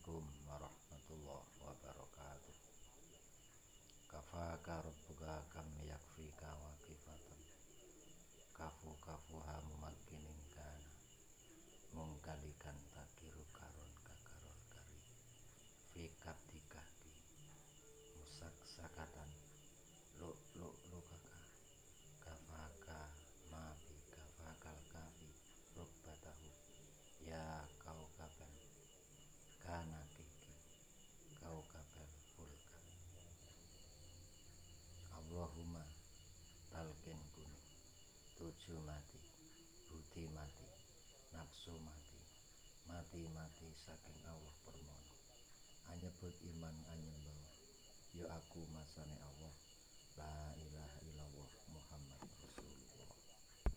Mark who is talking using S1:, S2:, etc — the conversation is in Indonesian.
S1: Assalamualaikum warahmatullahi wabarakatuh. Kafaka rabbuka kam yakfika wa kifatan. Kafu kafuha mumakinin kana. Mungkalikan takiru karon kakarol kari. Fikab dikahki. Musak sakatan. Lu kaka. Kafaka mabi kafakal kafi. Rubbatahu. Ya kau kabel. Kana kiki. Kau kabel fulkan. Allahumma talqin kuning. Tujuh mati, budi mati, nafsu mati, mati saking Allah permono. Anyebut iman anyembah. Ya aku masane Allah. La ilaha illallah Muhammad